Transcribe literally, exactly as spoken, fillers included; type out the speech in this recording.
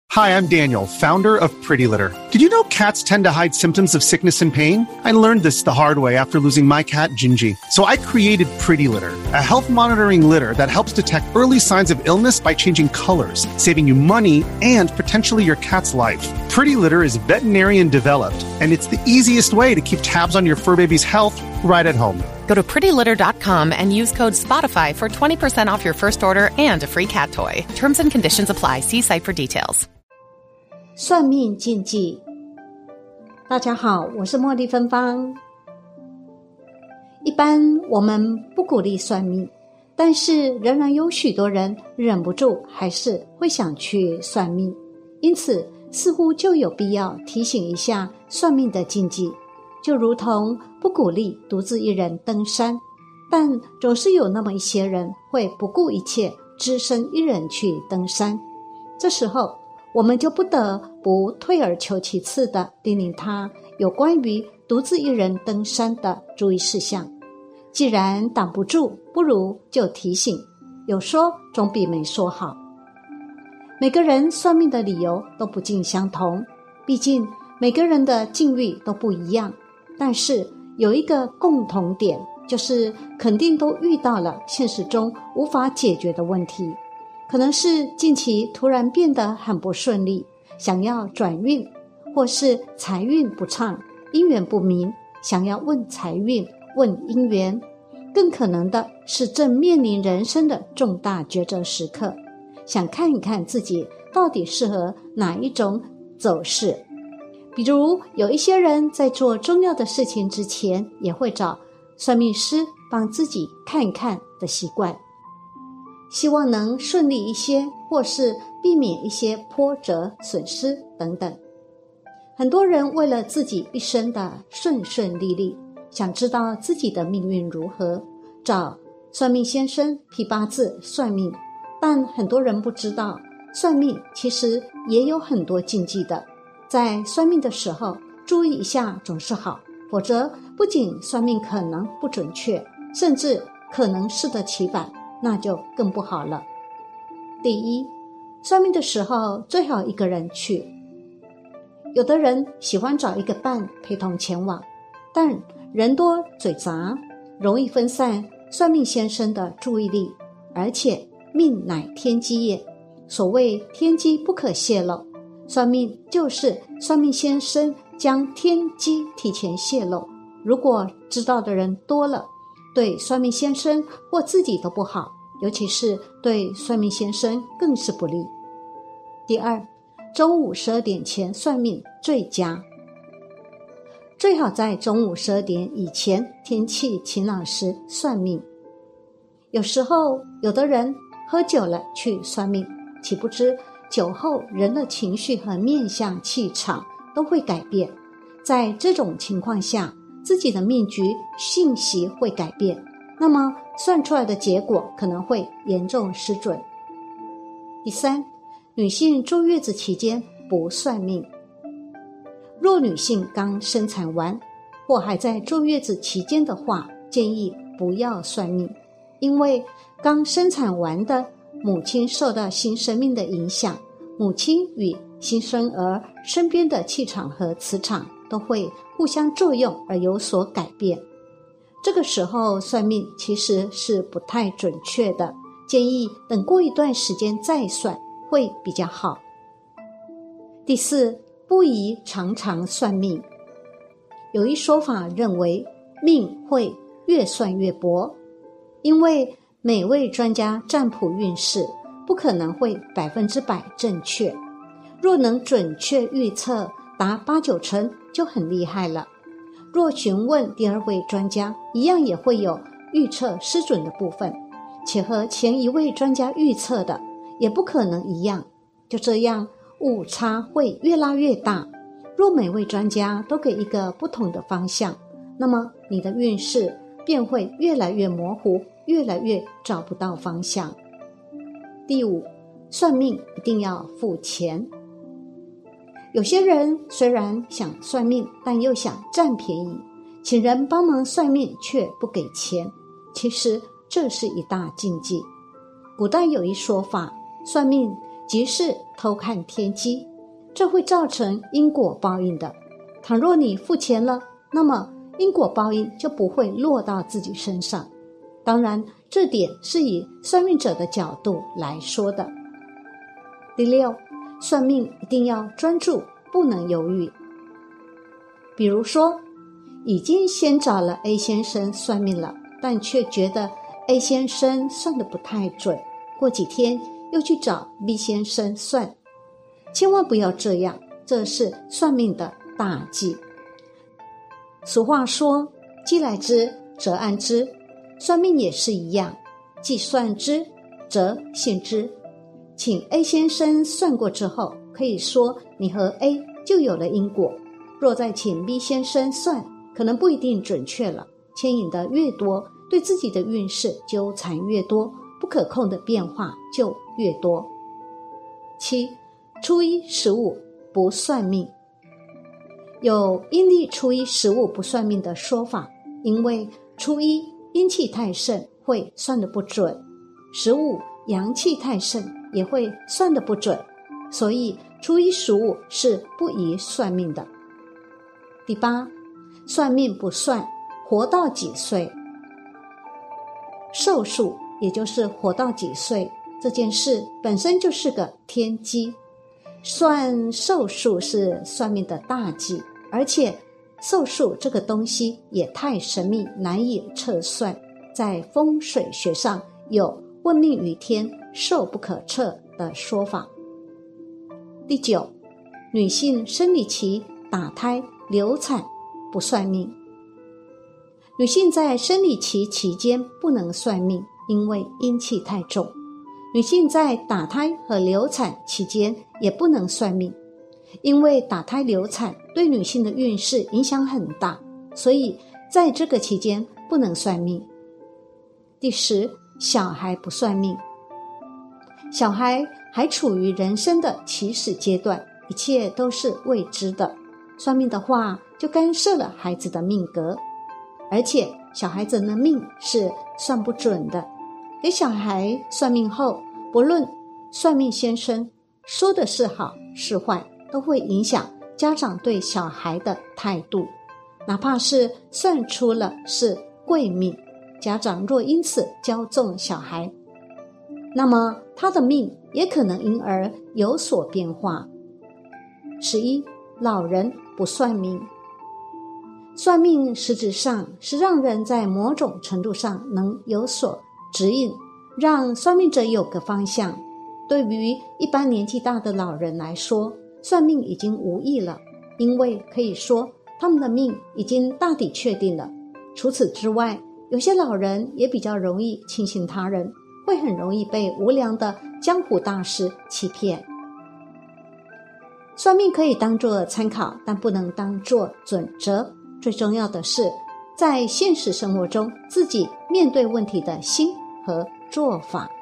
Hi, I'm Daniel, founder of Pretty Litter. Did you know cats tend to hide symptoms of sickness and pain? I learned this the hard way after losing my cat, Gingy. So I created Pretty Litter, a health monitoring litter that helps detect early signs of illness by changing colors, saving you money and potentially your cat's life. Pretty Litter is veterinarian developed, and it's the easiest way to keep tabs on your fur baby's health right at home. Go to pretty litter dot com and use code SPOTIFY for twenty percent off your first order and a free cat toy. Terms and conditions apply. See site for details. 算命禁忌。大家好，我是茉莉芬芳。一般我们不鼓励算命，但是仍然有许多人忍不住还是会想去算命，因此似乎就有必要提醒一下算命的禁忌。就如同不鼓励独自一人登山，但总是有那么一些人会不顾一切只身一人去登山。这时候我们就不得不退而求其次地叮咛他有关于独自一人登山的注意事项。既然挡不住，不如就提醒，有说总比没说好。每个人算命的理由都不尽相同，毕竟每个人的境遇都不一样，但是有一个共同点，就是肯定都遇到了现实中无法解决的问题。可能是近期突然变得很不顺利，想要转运，或是财运不畅，姻缘不明，想要问财运，问姻缘。更可能的是正面临人生的重大抉择时刻，想看一看自己到底适合哪一种走势。比如有一些人在做重要的事情之前，也会找算命师帮自己看一看的习惯，希望能顺利一些，或是避免一些波折损失等等。很多人为了自己一生的顺顺利利，想知道自己的命运如何，找算命先生批八字算命，但很多人不知道算命其实也有很多禁忌的，在算命的时候注意一下总是好，否则不仅算命可能不准确，甚至可能适得其反，那就更不好了。第一，算命的时候最好一个人去。有的人喜欢找一个伴陪同前往，但人多嘴杂，容易分散算命先生的注意力，而且命乃天机也，所谓天机不可泄露，算命就是算命先生将天机提前泄露，如果知道的人多了，对算命先生或自己都不好，尤其是对算命先生更是不利。第二，中午十二点前算命最佳，最好在中午十二点以前天气晴朗时算命。有时候有的人喝酒了去算命，岂不知酒后人的情绪和面相气场都会改变，在这种情况下自己的命局信息会改变，那么算出来的结果可能会严重失准。第三，女性坐月子期间不算命。若女性刚生产完或还在坐月子期间的话，建议不要算命，因为刚生产完的母亲受到新生命的影响，母亲与新生儿身边的气场和磁场都会互相作用而有所改变。这个时候算命其实是不太准确的，建议等过一段时间再算会比较好。第四，不宜常常算命。有一说法认为命会越算越薄，因为每位专家占卜运势不可能会百分之百正确，若能准确预测达八九成就很厉害了。若询问第二位专家，一样也会有预测失准的部分，且和前一位专家预测的也不可能一样，就这样误差会越拉越大。若每位专家都给一个不同的方向，那么你的运势便会越来越模糊，越来越找不到方向。第五，算命一定要付钱。有些人虽然想算命，但又想占便宜，请人帮忙算命却不给钱，其实这是一大禁忌。古代有一说法，算命即是偷看天机，这会造成因果报应的。倘若你付钱了，那么因果报应就不会落到自己身上。当然，这点是以算命者的角度来说的。第六，算命一定要专注，不能犹豫。比如说，已经先找了 A 先生算命了，但却觉得 A 先生算得不太准，过几天又去找 B 先生算。千万不要这样，这是算命的大忌。俗话说，既来之则安之，算命也是一样，既算之则信之。请 A 先生算过之后，可以说你和 A 就有了因果。若再请 B 先生算，可能不一定准确了，牵引的越多，对自己的运势纠缠越多，不可控的变化就越多。七，初一十五不算命。有阴历初一十五不算命的说法，因为初一阴气太盛会算得不准，十五阳气太盛也会算得不准，所以初一十五是不宜算命的。第八，算命不算活到几岁。寿数也就是活到几岁这件事本身就是个天机，算寿数是算命的大忌，而且寿数这个东西也太神秘，难以测算，在风水学上有问命于天，寿不可测的说法。第九，女性生理期、打胎、流产不算命。女性在生理期期间不能算命，因为阴气太重。女性在打胎和流产期间也不能算命，因为打胎流产对女性的运势影响很大，所以在这个期间不能算命。第十，小孩不算命。小孩还处于人生的起始阶段，一切都是未知的，算命的话就干涉了孩子的命格，而且小孩子的命是算不准的。给小孩算命后，不论算命先生说的是好是坏，都会影响家长对小孩的态度。哪怕是算出了是贵命，家长若因此骄纵小孩，那么他的命也可能因而有所变化。十一，老人不算命。算命实质上是让人在某种程度上能有所指引，让算命者有个方向。对于一般年纪大的老人来说，算命已经无益了，因为可以说他们的命已经大抵确定了。除此之外，有些老人也比较容易轻信他人，会很容易被无良的江湖大师欺骗。算命可以当作参考，但不能当作准则。最重要的是，在现实生活中自己面对问题的心和做法。